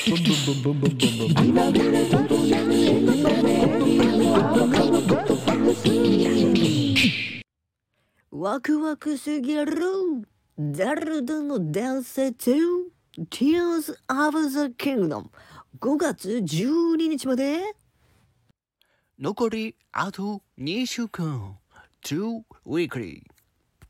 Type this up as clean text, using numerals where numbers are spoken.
ワクワクすぎるザルダの伝説 Tears of the Kingdom 5月12日まで残りあと2週間 2 weekly